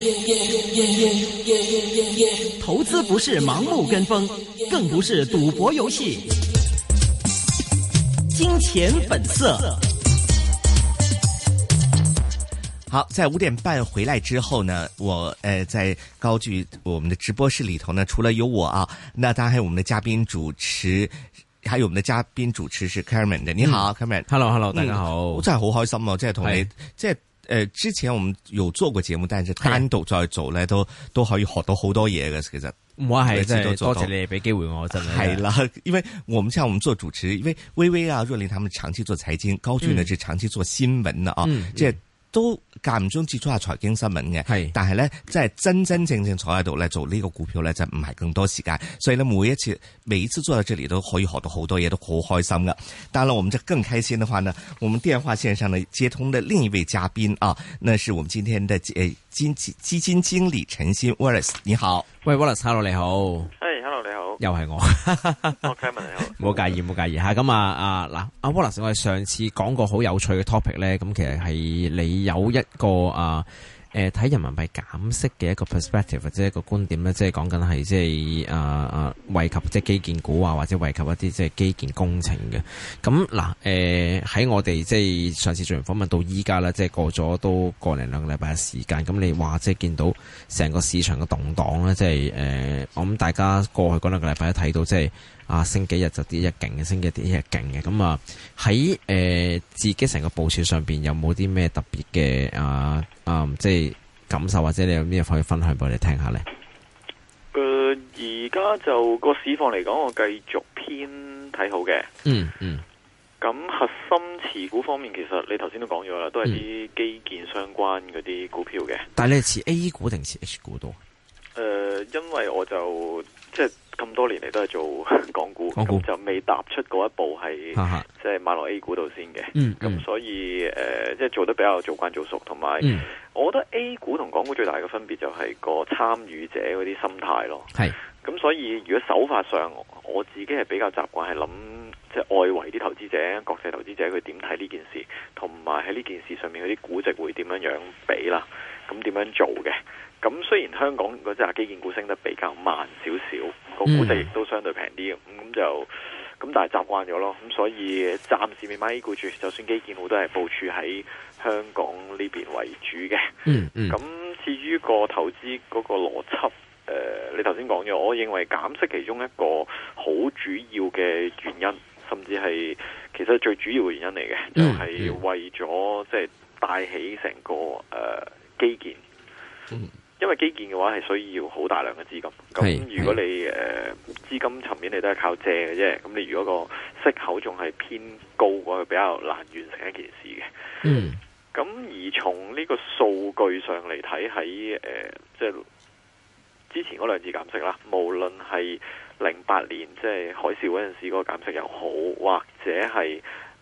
投資不是盲目跟風，更不是賭博遊戲。金錢本色。 好，在5點半回來之後呢，我在高聚我們的直播室裏頭呢，除了有我啊，那當然還有我們的嘉賓主持，還有我們的嘉賓主持是 Carmen 的。你好，Carmen。 Hello，大家好。 我真係好開心啊！即係同你，即係之前我們有做過節目，但係單獨再做咧，都可以學到好多嘢嘅。其實我係真係多謝你俾機會我，真係。 係啦，因為我們像我們做主持，因為微微啊、若琳他們長期做財經，高聚呢是長期做新聞的啊，即係。都間唔中接觸下財經新聞嘅，係，但係咧，即係真真正正坐喺度咧做呢個股票咧，就唔係更多時間，所以咧每一次坐喺這裡都可以學到好多嘢，都好開心噶。當然了，我們就更開心的話呢，我們電話線上呢接通的另一位嘉賓啊，那是我們今天的基金經理陳昕 Wallace， 你好。 喂 Wallace，hello 你好。 係 hello 你好。 又係我。 Carmen 你好。 冇介意吓，咁嗱，阿 Wallace， 我哋上次講過好有趣嘅 topic 咧，咁其實係你有一個睇人民幣減息嘅一個 perspective 或者一個觀點咧，即係講緊係即係惠及即係基建股啊，或者惠及一啲即係基建工程嘅。咁嗱喺我哋即係上次做完訪問到依家啦，即係過咗都個零兩個禮拜嘅時間。咁你話即係見到成個市場嘅動盪咧，即係我諗大家過去嗰兩個禮拜都睇到即係升幾日就跌一勁嘅，升幾日跌一日勁嘅。咁喺自己成個部署上邊有冇啲咩特別嘅即係感受，或者你有咩可以分享俾我哋聽下呢？ 而家就個市況嚟講，我繼續偏睇好嘅。咁核心持股方面，其實你頭先都講咗啦，都係啲基建相關嗰啲股票嘅。 但係你係持 A 股定持 H 股多？ 因為我就即係咁多年嚟都係做港股，咁就未踏出嗰一步係即係買落 A 股度先嘅。咁所以即係做得比較做慣做熟，同埋我覺得 A 股同港股最大嘅分別就係個參與者嗰啲心態咯。咁所以如果手法上，我自己係比較習慣係諗即係外圍啲投資者、國際投資者佢點睇呢件事，同埋喺呢件事上面嗰啲估值會點樣樣比啦，咁點樣做嘅。咁雖然香港嗰隻基建股升得比較慢少少，個估值亦都相對平啲，咁但係習慣咗咯。咁所以暫時未買 A 股住，就算基建股都係部署喺香港呢邊為主嘅。咁至於個投資嗰個邏輯，你頭先講咗，我認為減息其中一個好主要嘅原因，甚至係其實最主要嘅原因嚟嘅，就係為咗即係帶起成個基建。因為基建嘅話係需要好大量嘅資金，咁如果你資金層面你都係靠借嘅啫，咁你如果個息口仲係偏高嘅話，比較難完成一件事嘅。咁而從呢個數據上嚟睇，喺即係之前嗰兩次減息啦，無論係08年即係海嘯嗰陣時嗰個減息又好，或者係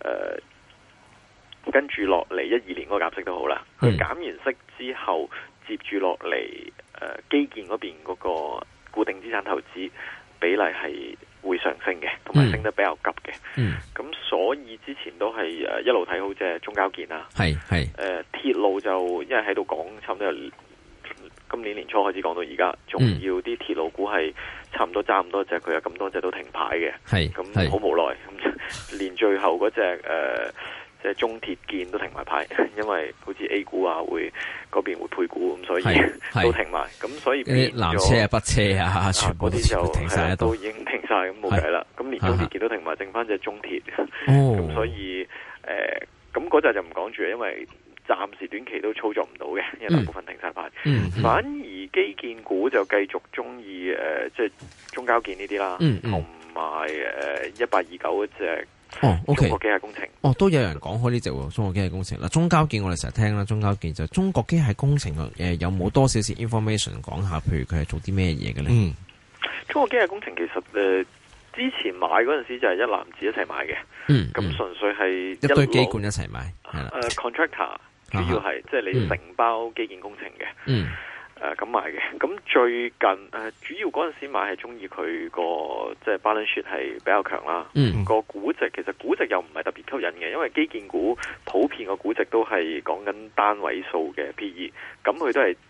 跟住落嚟12年嗰個減息都好啦，佢減完息之後。接住落嚟，基建嗰邊嗰個固定資產投資比例係會上升嘅，同埋升得比較急嘅。咁所以之前都係一路睇好即係中交建啦。鐵路就因為喺度講，差唔多由今年年初開始講到而家，仲要啲鐵路股係差唔多揸咁多隻，佢有咁多隻都停牌嘅。咁好無奈，咁連最後嗰隻即係中鐵建都停埋牌，因為好似 A 股啊嗰邊會配股，咁所以都停埋，咁所以變咗南車啊、北車啊，全部啲就停晒， 都已經停晒，咁冇計啦。咁連中鐵建都停埋，剩翻隻中鐵。咁所以咁嗰隻就唔講住，因為暫時短期都操作唔到嘅，因為大部分停晒牌。反而基建股就繼續中意即係中交建呢啲啦，同埋1829嗰隻。 OK， 中國機械工程。 都有人講開呢隻中國機械工程啦。中交建我哋成日聽啦，中交建就中國機械工程有冇多少少 information 講下？譬如佢係做啲咩嘢嘅咧？ 中國機械工程其實之前買嗰陣時就係一籃子一齊買嘅。咁純粹係一堆機管一齊買。 contractor 主要係即係你承包基建工程嘅。咁買嘅，咁最近主要嗰陣時買係中意佢個即係 balance sheet 係比較強啦。個估值其實估值又唔係特別吸引嘅，因為基建股普遍個估值都係講緊單位數嘅 PE，咁佢都係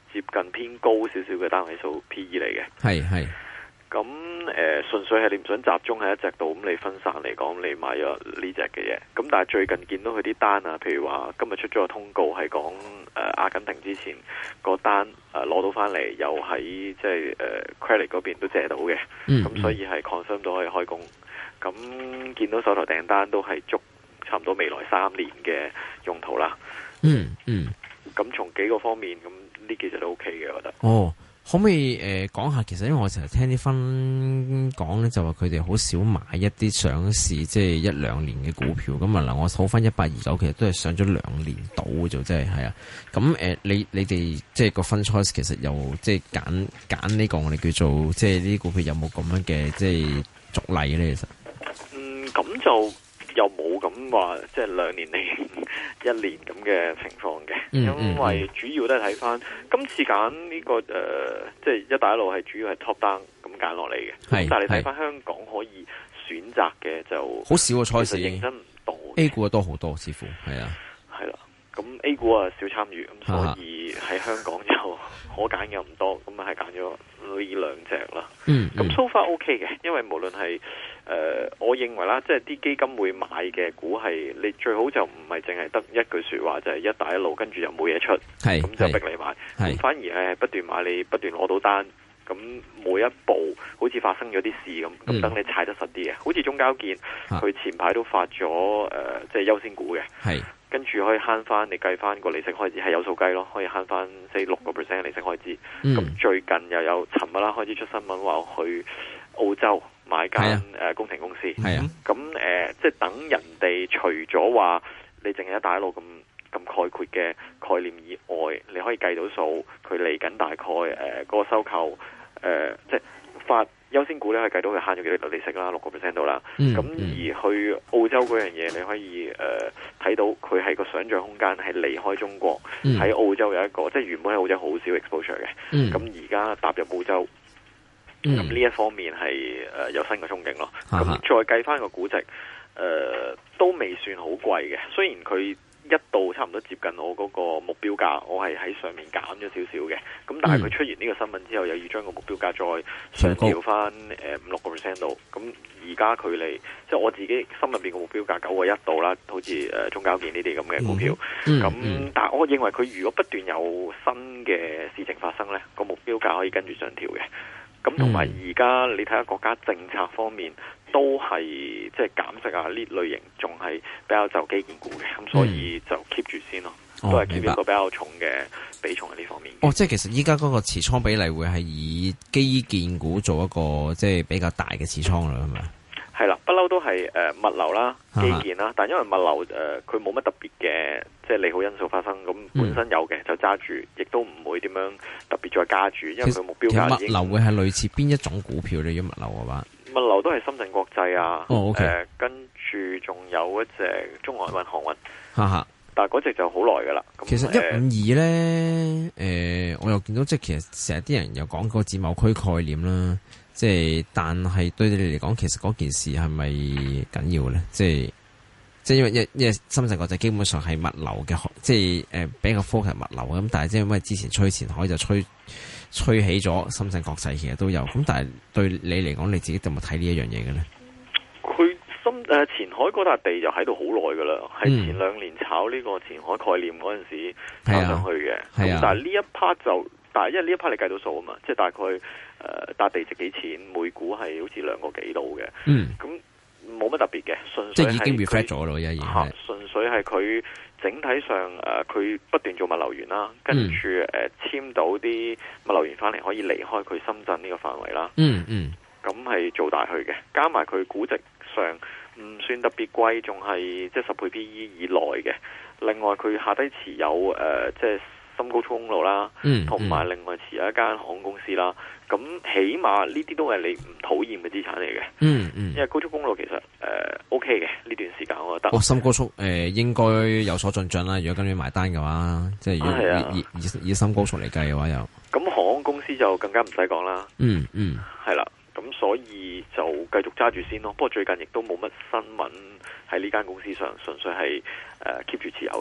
接近偏高少少嘅單位數 PE 嚟嘅。 係。 咁純粹係你唔想集中喺一隻度，咁你分散嚟講，你買咗呢隻嘅嘢。咁但係最近見到佢啲單啊，譬如話今日出咗個通告係講阿根廷之前個單攞到翻嚟，又喺即係credit 嗰邊都借到嘅。咁所以係 confirm 到可以開工。咁見到手頭訂單都係足差唔多未來3年嘅用途啦。咁從幾個方面，咁呢幾隻都 OK 嘅，我覺得。 哦。可唔可以講下？其實因為我成日聽啲分講咧，就話佢哋好少買一啲上市即係1-2年嘅股票。咁啊嗱，我數翻1829，其實都係上咗2年到嘅啫，即係啊。咁你哋即係個分 choice，其實又即係揀呢個我哋叫做即係呢啲股票有冇咁樣嘅即係俗例咧？其實咁就又冇咁話，即係2年嚟1年咁嘅情況嘅。因為主要都係睇翻今次揀呢個即係一帶一路係主要係 top down 咁揀落嚟嘅。但係你睇翻香港可以選擇嘅就好少個賽事， 認真唔多。 A 股多好多，似乎係啊。 係啦，咁 A 股啊少參與，咁所以喺香港就可揀嘅唔多，咁啊係揀咗呢2隻啦。咁 so far OK 嘅，因為無論係我認為啦，即係啲基金會買嘅股係你最好就唔係淨係得一句說話，就係一帶一路跟住又冇嘢出，咁就逼你買。咁反而係不斷買，你不斷攞到單，咁每一步好似發生咗啲事咁等你踩得實啲嘅。好似中交建，佢前排都發咗即係優先股嘅，跟住可以慳翻，你計翻個利息開支係有數計咯，可以慳翻6% 嘅利息開支。咁最近又有尋日啦開始出新聞話去澳洲買間工程公司，咁即係等人哋除咗話你淨係一帶一路咁概括嘅概念以外，你可以計到數，佢嚟緊大概嗰個收購即係發優先股咧，係計到佢慳咗幾多利息啦，6% 度啦。咁而去澳洲嗰樣嘢，你可以睇到佢係個想像空間係離開中國，喺澳洲有一個即係原本喺澳洲好少 exposure 嘅，咁而家踏入澳洲。咁呢一方面係有新嘅憧憬咯。咁再計翻個估值，都未算好貴嘅。雖然佢一度差唔多接近我嗰個目標價，我係喺上面減咗少少嘅。咁但係佢出完呢個新聞之後，又要將個目標價再上調翻5-6% 度。咁而家距離即係我自己心入邊個目標價9.1度啦，好似中交建呢啲咁嘅股票。咁但係我認為佢如果不斷有新嘅事情發生呢，個目標價可以跟住上調嘅。咁同埋而家你睇下國家政策方面都係即係減息啊，呢類型仲係比較就基建股嘅，咁所以就 keep 住先咯，都係 keep 一個比較重嘅比重喺呢方面。 即係其實依家嗰個持倉比例會係以基建股做一個即係比較大嘅持倉啦，係咪？ 係啦，不嬲都係物流啦、基建啦，但因為物流佢冇乜特別嘅即係利好因素發生，咁本身有嘅就揸住，亦都唔會點樣特別再加住，因為佢目標價已經。物流會係類似邊一種股票咧？如果物流嘅話，物流都係深圳國際啊，跟住仲有一隻中外運航運，但係嗰隻就好耐噶啦。其實152咧， 我又見到即係其實成日啲人又講個自貿區概念啦。即係，但係對你哋嚟講，其實嗰件事係咪緊要咧？即係因為深圳國際基本上係物流嘅，即係比較 focus 物流咁。但係即係因為之前吹前海就吹起咗深圳國際，其實都有。咁但係對你嚟講，你自己有冇睇呢一樣嘢嘅咧？佢前海嗰笪地就喺度好耐噶啦，係前2年炒呢個前海概念嗰陣時炒上去嘅。咁但係呢一 part 就，但係因為呢一 part 你計到數啊嘛，即係大概。笪地值幾錢？每股係好似2個幾度嘅，咁冇乜特別嘅，純粹係已經 reflect 咗咯，純粹係佢整體上佢不斷做物流園啦，跟住簽到啲物流園翻嚟，可以離開佢深圳呢個範圍啦。咁係做大去嘅，加埋佢估值上唔算特別貴，仲係即係10倍 PE 以內嘅。另外佢下低持有即係深高速公路啦，同埋另外持有一間航空公司啦。咁起碼呢啲都係你唔討厭嘅資產嚟嘅。因為高速公路其實OK 嘅呢段時間，我覺得。深高速應該有所進帳啦。如果跟住埋單嘅話，即係如果以深高速嚟計嘅話，又咁航空公司就更加唔使講啦。係啦。咁所以就繼續揸住先咯。不過最近亦都冇乜新聞喺呢間公司上，純粹係keep 住持有嘅啫。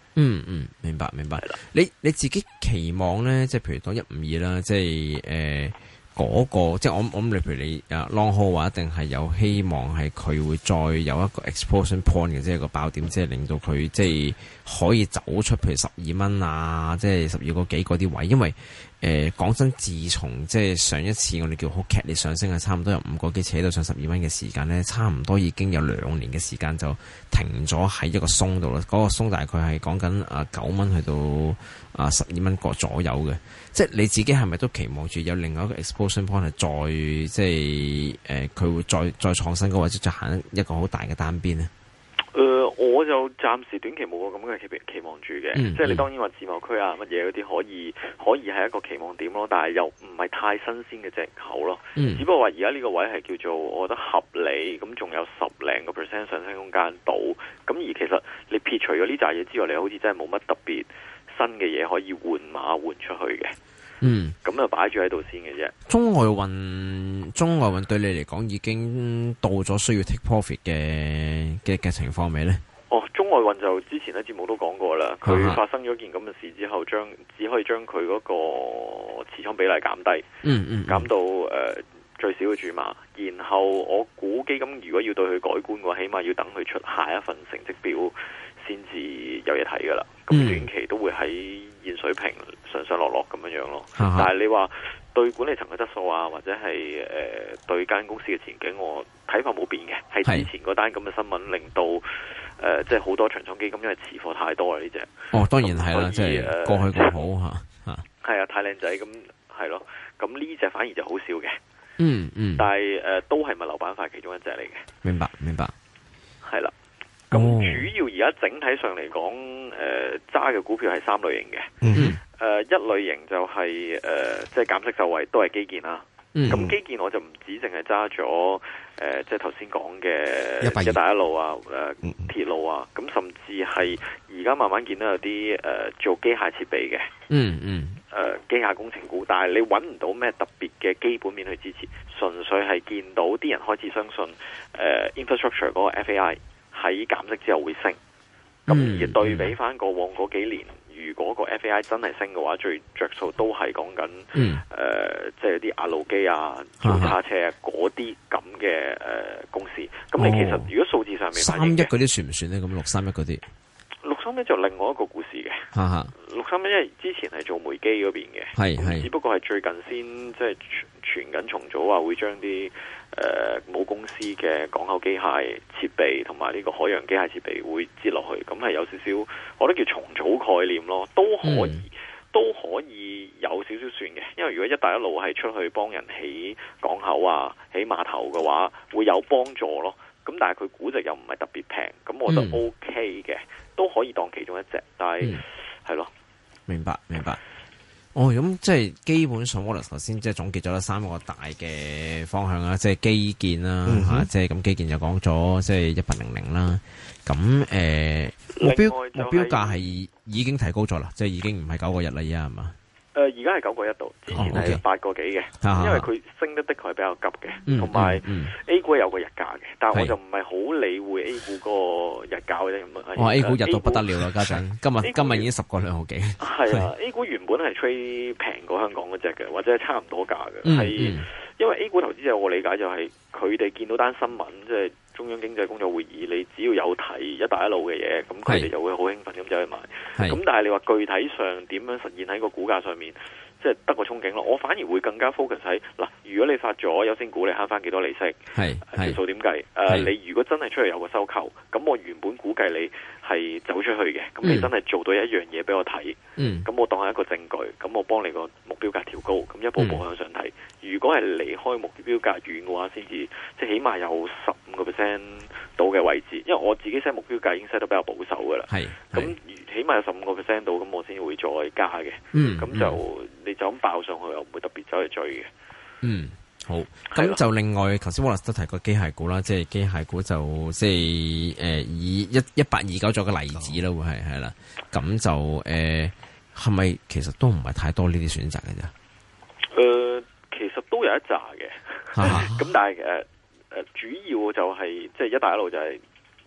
明白。你自己期望咧，即係譬如講152啦，即係嗰個，即係我諗你譬如你long haul 話，一定係有希望係佢會再有一個 explosion point 嘅，即係個爆點，即係令到佢即係可以走出譬如12蚊啊，即係12個幾嗰啲位，因為講真，自從即係上一次我哋叫好劇烈上升，係差唔多由5個幾扯到上12蚊嘅時間咧，差唔多已經有2年嘅時間就停咗喺一個松度啦。嗰個松大概係講緊9蚊去到12蚊個左右嘅。即係你自己係咪都期望住有另外一個 explosion point 係再即係佢會再創新嗰，或者再行一個好大嘅單邊呢？ 我就暫時短期冇個咁嘅期望住嘅，即係你當然話自貿區啊乜嘢嗰啲可以係一個期望點咯，但係又唔係太新鮮嘅藉口咯。只不過話而家呢個位係叫做我覺得合理，咁仲有10零個%上升空間到，咁而其實你撇除咗呢扎嘢之外，你好似真係冇乜特別新嘅嘢可以換馬換出去嘅。咁就擺住喺度先嘅啫。 中外運對你嚟講已經到咗需要 take profit 嘅情況未呢？ 中外運就之前喺節目都講過啦，佢發生咗件咁嘅事之後，只可以將佢嗰個持倉比例減低，減到最少嘅注碼。然後我估基金如果要對佢改觀嘅話，起碼要等佢出下一份成績表先至有嘢睇噶啦。咁短期都會喺現水平上上落落咁樣咯。但係你話對管理層嘅質素啊，或者係對間公司嘅前景，我睇法冇變嘅。係之前嗰單咁嘅新聞令到即係好多長倉基金因為持貨太多啦呢隻。當然係啦，即係過去咁好吓。係啊，太靚仔咁係咯。咁呢隻反而就好少嘅。但係都係物流板塊其中一隻嚟嘅。明白。係啦。咁主要而家整體上嚟講，揸嘅股票係3類型嘅。一類型就係即係減息受惠，都係基建啦。咁基建我就唔止淨係揸咗即係頭先講嘅一帶一路啊，鐵路啊，咁甚至係而家慢慢見到有啲做機械設備嘅，機械工程股，但係你揾唔到咩特別嘅基本面去支持，純粹係見到啲人開始相信infrastructure 嗰個 FAI 喺減息之後會升。咁而對比翻過往嗰幾年，如果個 FAI 真係升嘅話，最着數都係講緊即係啲壓路機啊、做叉車啊嗰啲咁嘅公司。咁你其實如果數字上面 31嗰啲算唔算咧？咁631嗰啲 ，631就另外一個故事嘅。631因為之前係做煤機嗰邊嘅，只不過係最近先即係傳緊重組話會將啲母公司嘅港口機械設備同埋呢個海洋機械設備會接落去，咁係有少少，我覺得叫重組概念咯，都可以有少少算嘅。因為如果一帶一路係出去幫人起港口啊、起碼頭嘅話，會有幫助咯。咁但係佢估值又唔係特別平，咁我覺得 OK 嘅，都可以當其中一隻。但係係咯，明白。咁即係基本上，Wallace 頭先即係總結咗3個大嘅方向啦，即係基建啦，即係咁基建就講咗，即係1800啦。咁目標價係已經提高咗啦，即係已經唔係9個日啦，而家係嘛？而家係9個1度，之前係8個幾嘅，因為佢升得的確係比較急嘅，同埋 A 股有個日價嘅，但係我就唔係好理會 A 股嗰個日價嘅啫。A 股日到不得了啦，家陣今日已經10個2毫幾。係啊，A 股原本係吹平過香港嗰隻嘅，或者係差唔多價嘅，係因為 A 股投資者我理解就係佢哋見到單新聞，即係中央經濟工作會議，你只要有睇一帶一路嘅嘢，咁佢哋就會好興奮咁走去買。咁但係你話具體上點樣實現喺個股價上面，即係得個憧憬咯。我反而會更加 focus 喺嗱，如果你發咗優先股，你慳翻幾多利息？條數點計？你如果真係出嚟有個收購，咁我原本估計你係走出去嘅，咁你真係做到一樣嘢俾我睇，咁我當係一個證據，咁我幫你個目標價調高，咁一步步向上睇。如果係離開目標價遠嘅話，先至即係起碼有15% 到嘅位置，因為我自己 set 目標價已經 set 得比較保守噶啦。咁起碼有15% 到，咁我先會再加嘅。咁就你就咁爆上去，又唔會特別走去追嘅。好。咁就另外，頭先 Wallace 都提過機械股啦，即係機械股就即係以1829做個例子啦，會係啦。咁就係咪其實都唔係太多呢啲選擇嘅啫？其實都有一紮嘅，咁但係主要就係即係一帶一路就係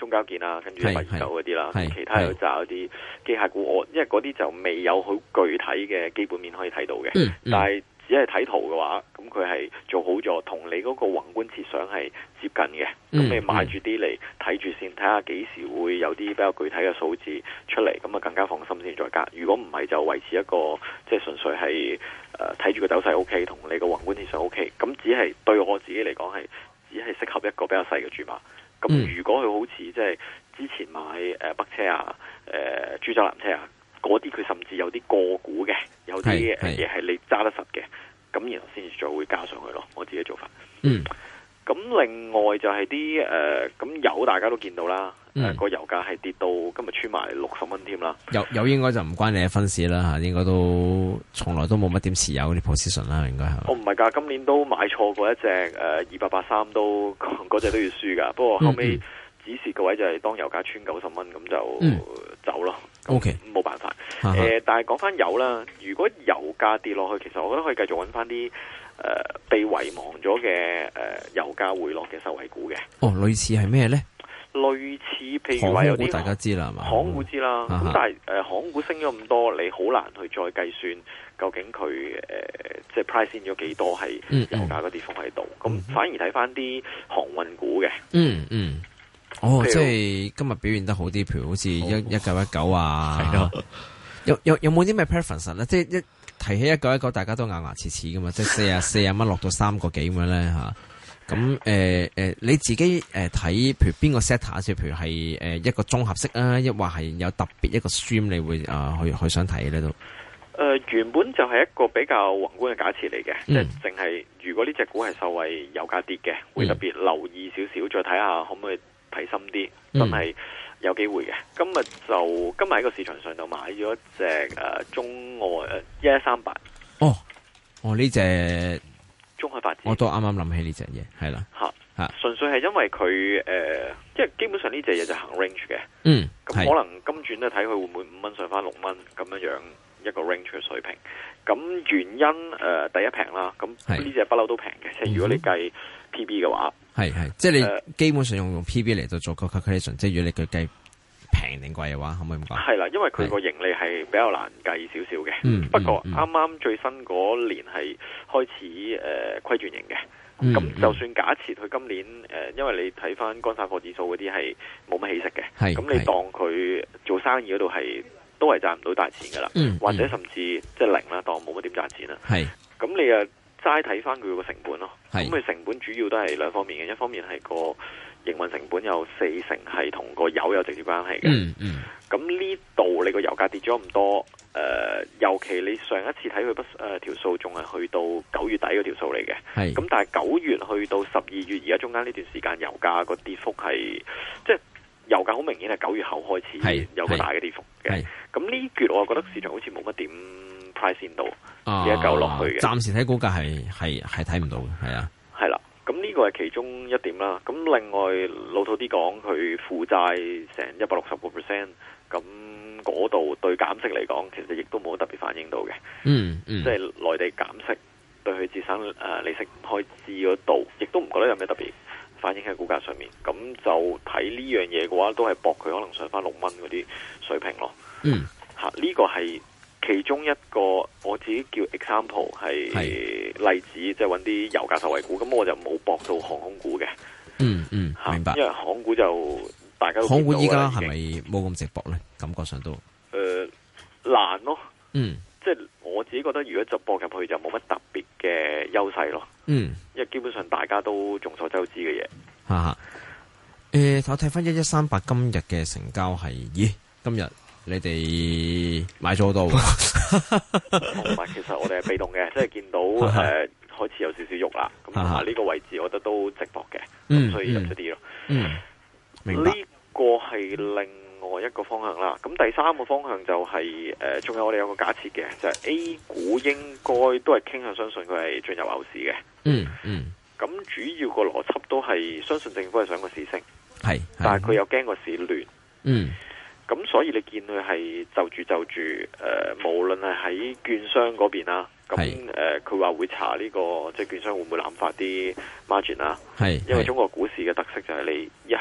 中交建啦，跟住129嗰啲啦，其他有揸嗰啲機械股，因為嗰啲就未有好具體嘅基本面可以睇到嘅，但係只係睇圖嘅話，咁佢係做好咗，同你嗰個宏觀設想係接近嘅。咁你買住啲嚟睇住先，睇下幾時會有啲比較具體嘅數字出嚟，咁啊更加放心先再加。如果唔係就維持一個即係純粹係睇住個走勢 OK， 同你個宏觀設想 OK。咁只係對我自己嚟講係只係適合一個比較細嘅注碼。咁如果佢好似即係之前買北車啊、株洲南車啊。嗰啲佢甚至有啲個股嘅，有啲嘢係你揸得實嘅，咁然後先至再會加上去咯。我自己做法。咁另外就係啲咁油大家都見到啦，個油價係跌到今日穿埋60蚊添啦。 油應該就唔關你嘅分市啦嚇，應該都從來都冇乜點持有啲 position 啦，應該係。我唔係㗎，今年都買錯過一隻2883都嗰隻都要輸㗎，不過後尾指示個位就係當油價穿90蚊咁就走咯。 OK， 冇辦法。但係講翻油啦，如果油價跌落去，其實我覺得可以繼續揾翻啲被遺忘咗嘅油價回落嘅受惠股嘅。 類似係咩呢？ 類似譬如話有啲大家知啦，係嘛？ 航股知啦。咁但係航股升咗咁多，你好難去再計算究竟佢即係 price in 咗幾多係油價個跌幅喺度。咁反而睇翻啲航運股嘅。 即係今日表現得好啲，譬如好似1919啊，有冇啲咩 preference 咧？即係一提起1919，大家都咬牙切齒噶嘛，即係40蚊落到3個幾咁樣咧吓。咁你自己睇，譬如邊個 sector，即係譬如係一個綜合式啊，抑或係有特別一個 stream，你會去想睇咧都？ 原本就係一個比較宏觀嘅假設嚟嘅，即係淨係如果呢隻股係受惠油價跌嘅，會特別留意少少，再睇下可唔可以睇深啲，真係有機會嘅。今日喺個市場上就買咗一隻中外1138。 呢隻中海發展， 我都啱啱諗起呢隻嘢，係啦純粹係因為佢即係基本上呢隻嘢就行 range 嘅。咁可能今轉咧睇佢會唔會5蚊上翻6蚊咁樣一個 range 嘅水平。咁原因第一平啦，咁呢隻不嬲都平嘅，即係如果你計 PB 嘅話。 即係你基本上用 PB 嚟到做個 calculation，即係如果你佢計平定貴嘅話，可唔可以咁講？係啦， 因為佢個盈利係比較難計少少嘅。不過啱啱最新嗰年係開始虧轉盈嘅。咁就算假設佢今年因為你睇翻乾散貨指數嗰啲係冇乜起色嘅，咁你當佢做生意嗰度都係賺唔到大錢噶啦，或者甚至即係零啦，當冇乜點賺錢啦。咁你齋睇翻佢個成本咯，咁佢成本主要都係兩方面嘅，一方面係個營運成本有40%係同個油有直接關係嘅。咁呢度你個油價跌咗咁多，尤其你上一次睇佢條數仲係去到9月底嗰條數嚟嘅，咁但係9月去到12月而家中間呢段時間油價個跌幅係即係油價好明顯係9月後開始有個大嘅跌幅嘅。咁呢橛我覺得市場好似冇乜點 price in 到呢一嚿落去嘅， 暫時睇股價係睇唔到嘅， 係啦。咁呢個係其中一點啦。咁另外老土啲講，佢負債成160%，咁嗰度對減息嚟講，其實亦都冇特別反映到嘅。即係內地減息對佢節省利息開支嗰度，亦都唔覺得有咩特別反映喺股價上面。咁就睇呢樣嘢嘅話，都係搏佢可能上翻6蚊嗰啲水平咯。呢個係其中一個我自己叫 example 係例子，即係揾啲油價受惠股。咁我就冇搏到航空股嘅。 明白。 因為航空股就大家都航空股依家係咪冇咁直搏咧？感覺上都難咯。即係我自己覺得，如果就搏入去就冇乜特別嘅優勢咯。因為基本上大家都眾所周知嘅嘢。 我睇翻1138今日嘅成交係，今日你哋買咗好多喎。 同埋其實我哋係被動嘅，即係見到開始有少少喐啦。咁同埋呢個位置，我覺得都值博嘅，咁所以入咗啲咯。 明白。 呢個係另外一個方向啦。咁第三個方向就係仲有我哋有個假設嘅，就係 A 股應該都係傾向相信佢係進入牛市嘅。咁主要個邏輯都係相信政府係想個市升，但係佢又驚個市亂。咁所以你見佢係就住無論係喺券商嗰邊啦，咁佢話會查呢個即係券商會唔會濫發啲 margin 啦。因為中國股市嘅特色就係你一係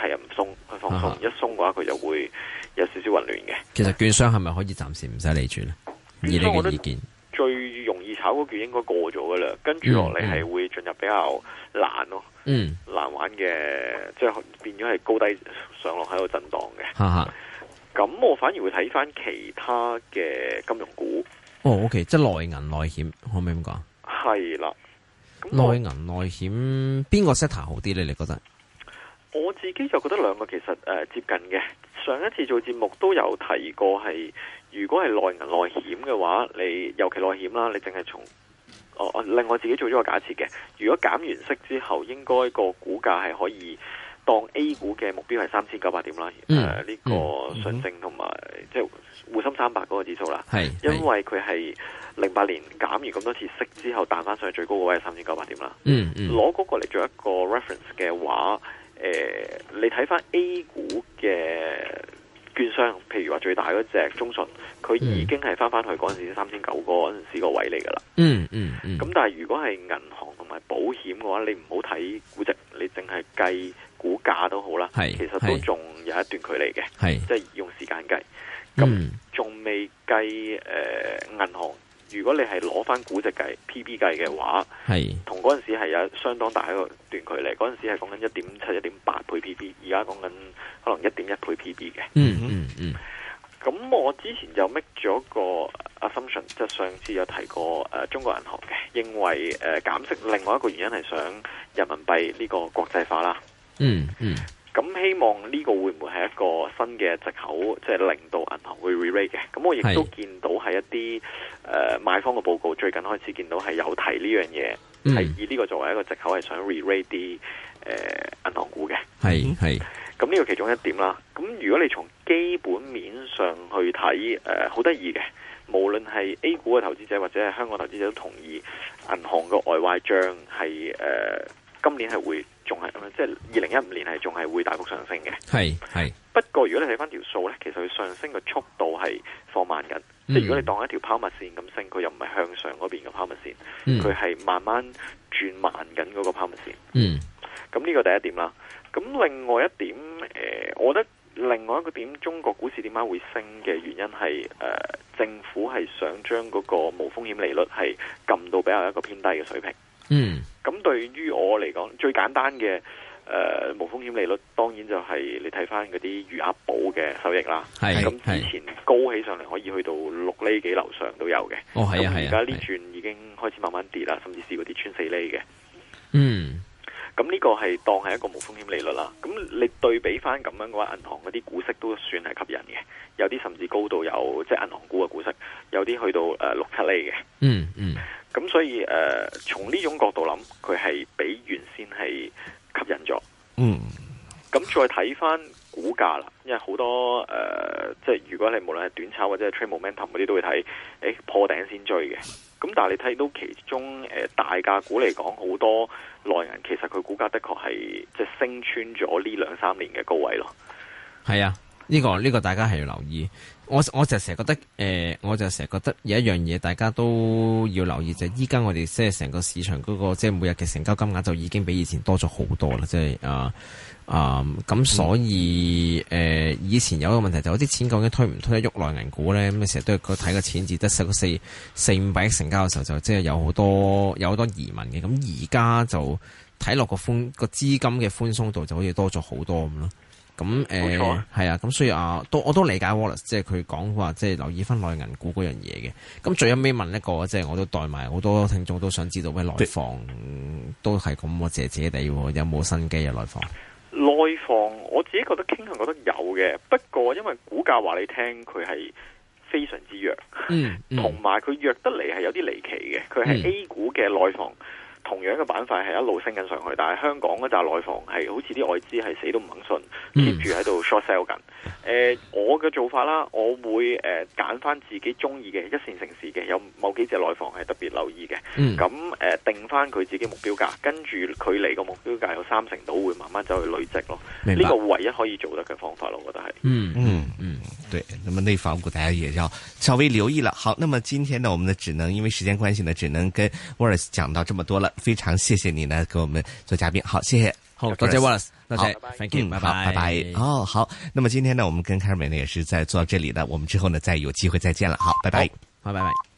係唔鬆去放鬆，一鬆嘅話佢就會有少少混亂嘅。 其實券商係咪可以暫時唔使理住咧？以你嘅意見， 最容易炒嗰券應該過咗噶啦，跟住落嚟係會進入比較難咯，難玩嘅，即係變咗係高低上落喺度震盪嘅。咁我反而會睇翻其他嘅金融股。 OK， 即係內銀內險，可唔可以咁講？ 係啦， 內銀內險邊個 sector 好啲咧？你覺得？ 我自己就覺得兩個其實接近嘅。上一次做節目都有提過係，如果係內銀內險嘅話，你尤其內險啦，你淨係從另外自己做咗個假設嘅，如果減完息之後，應該個股價係可以當 A 股嘅目標係3900點啦。呢個上證同埋即係滬深300嗰個指數啦。因為佢係08年減完咁多次息之後彈翻上去最高個位係3900點啦。攞嗰個嚟做一個 reference 嘅話，你睇翻 A 股嘅券商，譬如話最大嗰隻中信，佢已經係翻去嗰陣時3900嗰陣時個位嚟噶啦。咁但係如果係銀行同埋保險嘅話，你唔好睇估值，你淨係計股價都好啦。其實都仲有一段距離嘅，即係用時間計。咁仲未計銀行。如果你係攞翻估值計 P/B 計嘅話，同嗰陣時係有相當大一個段距離。嗰陣時係講緊1.7、1.8倍 P/B， 而家講緊可能1.1倍 P/B 嘅。咁我之前就 make 咗個 assumption， 即係上次有提過中國銀行嘅，認為減息另外一個原因係想人民幣呢個國際化啦。咁希望呢個會唔會係一個新嘅藉口，即係令到銀行會 re-rate 嘅？咁我亦都見到係一啲買方嘅報告，最近開始見到係有提呢樣嘢，係以呢個作為一個藉口，係想 re-rate 啲銀行股嘅。咁呢個其中一點啦。咁如果你從基本面上去睇，好得意嘅，無論係 A 股嘅投資者或者係香港投資者都同意，銀行嘅外壞帳係今年係會仲係即係2015年係仲係會大幅上升嘅。不過如果你睇翻條數咧，其實佢上升嘅速度係放慢緊。即係如果你當一條拋物線咁升，佢又唔係向上嗰邊嘅拋物線，佢係慢慢轉慢緊嗰個拋物線。咁呢個第一點啦。咁另外一點，我覺得另外一個點，中國股市點解會升嘅原因係政府係想將嗰個無風險利率係撳到比較一個偏低嘅水平。咁對於我嚟講，最簡單嘅無風險利率，當然就係你睇翻嗰啲餘額寶嘅收益啦。咁之前高起上嚟可以去到6厘幾樓上都有嘅。咁而家呢轉已經開始慢慢跌啦，甚至試過跌穿4厘嘅。咁呢個係當係一個無風險利率啦。咁你對比翻咁樣嘅話，銀行嗰啲股息都算係吸引嘅，有啲甚至高到有即係銀行股嘅股息，有啲去到6-7厘嘅。咁所以從呢種角度諗，佢係比原先係吸引咗。咁再睇翻股價啦，因為好多即係如果你無論係短炒或者係 trade momentum 嗰啲都會睇，破頂先追嘅。咁但係你睇到其中大價股嚟講，好多內銀其實佢股價的確係即係升穿咗呢2-3年嘅高位咯。 呢個大家係要留意。我就成日覺得我就成日覺得有一樣嘢大家都要留意，就係依家我哋即係成個市場嗰個即係每日嘅成交金額就已經比以前多咗好多啦。即係咁所以以前有一個問題就係啲錢究竟推唔推得喐內銀股咧？咁成日都係睇個錢字得400-500億成交嘅時候，就即係有好多疑問嘅。咁而家就睇落個資金嘅寬鬆度就好似多咗好多咁咯。咁係啊，咁所以我都理解 Wallace， 即係佢講話，即係留意翻內銀股嗰樣嘢嘅。咁最後尾問一個，即係我都代埋好多聽眾都想知道，喂，內房都係咁謝謝地，有冇新機啊？ 內房我自己覺得傾向覺得有嘅，不過因為股價話你聽佢係非常之弱，同埋佢弱得嚟係有啲離奇嘅，佢係 A 股嘅內房。同樣嘅板塊係一路升緊上去，但係香港嗰扎內房係好似啲外資係死都唔肯信，keep 住喺度 short sell 緊。我嘅做法啦，我會揀翻自己中意嘅一線城市嘅，有某幾隻內房係特別留意嘅。咁定翻佢自己目標價，跟住佢離個目標價有30%到，會慢慢走去累積咯。呢個唯一可以做得嘅方法咯，我覺得係。 對，那麼內房股大家也要稍微留意了。好，那麼今天呢，我們呢只能因為時間關係呢，只能跟 Wallace 講到這麼多了。非常謝謝你呢，給我們做嘉賓。好，謝謝。 好，多謝 Wallace， 多謝 ，Thank you， 拜拜。哦，好，那麼今天呢，我們跟 Carmen 呢也是在做到這裡的，我們之後呢再有機會再見了，好，拜拜， 好，拜拜。